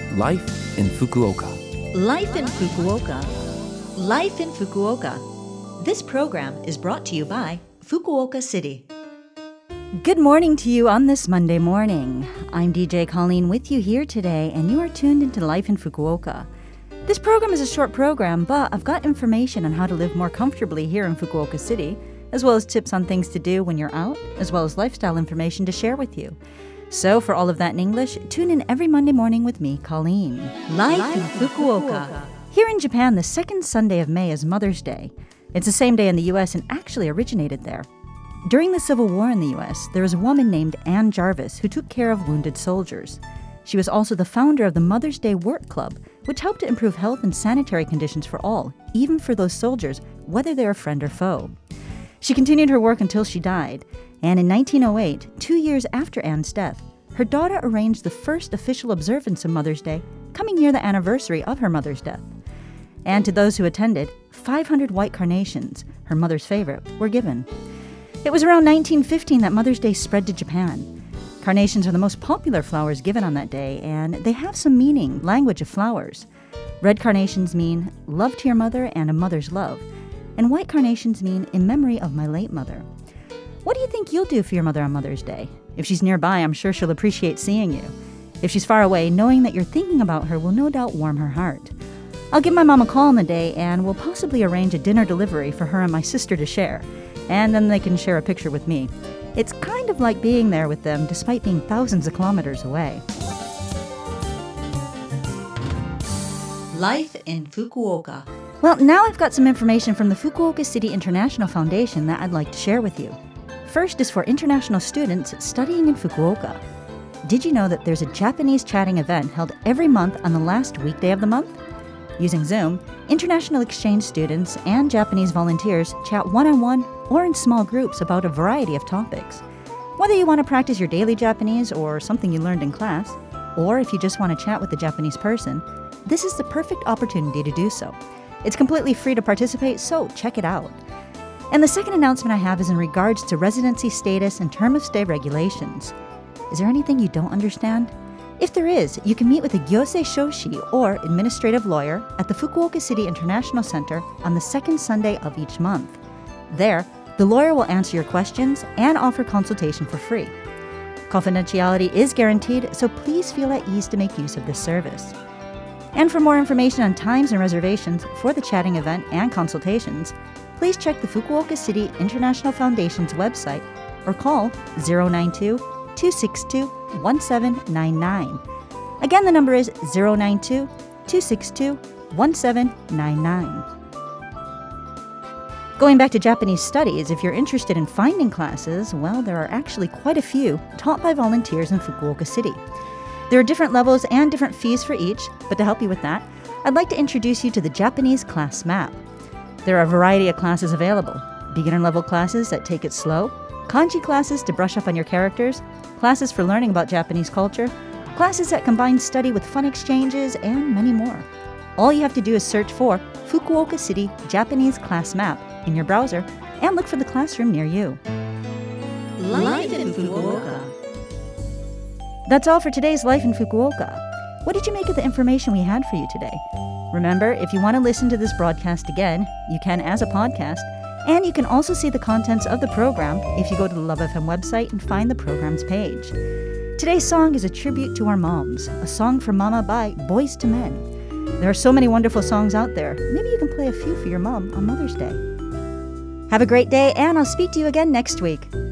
Life in Fukuoka. Life in Fukuoka. Life in Fukuoka. This program is brought to you by Fukuoka City. Good morning to you on this Monday morning. I'm DJ Colleen with you here today, and you are tuned into Life in Fukuoka. This program is a short program, but I've got information on how to live more comfortably here in Fukuoka City, as well as tips on things to do when you're out, as well as lifestyle information to share with you. So for all of that in English, tune in every Monday morning with me, Colleen. Life in Fukuoka. Here in Japan, the second Sunday of May is Mother's Day. It's the same day in the U.S. and actually originated there. During the Civil War in the U.S., there was a woman named Anne Jarvis who took care of wounded soldiers. She was also the founder of the Mother's Day Work Club, which helped to improve health and sanitary conditions for all, even for those soldiers, whether they're a friend or foe. She continued her work until she died, and in 1908, 2 years after Anne's death, her daughter arranged the first official observance of Mother's Day, coming near the anniversary of her mother's death. And to those who attended, 500 white carnations, her mother's favorite, were given. It was around 1915 that Mother's Day spread to Japan. Carnations are the most popular flowers given on that day, and they have some meaning, language of flowers. Red carnations mean love to your mother and a mother's love, and white carnations mean in memory of my late mother. What do you think you'll do for your mother on Mother's Day? If she's nearby, I'm sure she'll appreciate seeing you. If she's far away, knowing that you're thinking about her will no doubt warm her heart. I'll give my mom a call on the day, and we'll possibly arrange a dinner delivery for her and my sister to share, and then they can share a picture with me. It's kind of like being there with them despite being thousands of kilometers away. Life in Fukuoka. Well, now I've got some information from the Fukuoka City International Foundation that I'd like to share with you. First is for international students studying in Fukuoka. Did you know that there's a Japanese chatting event held every month on the last weekday of the month? Using Zoom, international exchange students and Japanese volunteers chat one-on-one or in small groups about a variety of topics. Whether you want to practice your daily Japanese or something you learned in class, or if you just want to chat with a Japanese person, this is the perfect opportunity to do so. It's completely free to participate, so check it out. And the second announcement I have is in regards to residency status and term of stay regulations. Is there anything you don't understand? If there is, you can meet with a Gyosei Shoshi or administrative lawyer at the Fukuoka City International Center on the second Sunday of each month. There, the lawyer will answer your questions and offer consultation for free. Confidentiality is guaranteed, so please feel at ease to make use of this service. And for more information on times and reservations for the chatting event and consultations, please check the Fukuoka City International Foundation's website or call 092-262-1799. Again, the number is 092-262-1799. Going back to Japanese studies, if you're interested in finding classes, well, there are actually quite a few taught by volunteers in Fukuoka City. There are different levels and different fees for each, but to help you with that, I'd like to introduce you to the Japanese class map. There are a variety of classes available. Beginner-level classes that take it slow, kanji classes to brush up on your characters, classes for learning about Japanese culture, classes that combine study with fun exchanges, and many more. All you have to do is search for Fukuoka City Japanese Class Map in your browser and look for the classroom near you. Life in Fukuoka. That's all for today's Life in Fukuoka. What did you make of the information we had for you today? Remember, if you want to listen to this broadcast again, you can as a podcast, and you can also see the contents of the program if you go to the Love FM website and find the program's page. Today's song is a tribute to our moms, a song for Mama by Boyz II Men. There are so many wonderful songs out there. Maybe you can play a few for your mom on Mother's Day. Have a great day, and I'll speak to you again next week.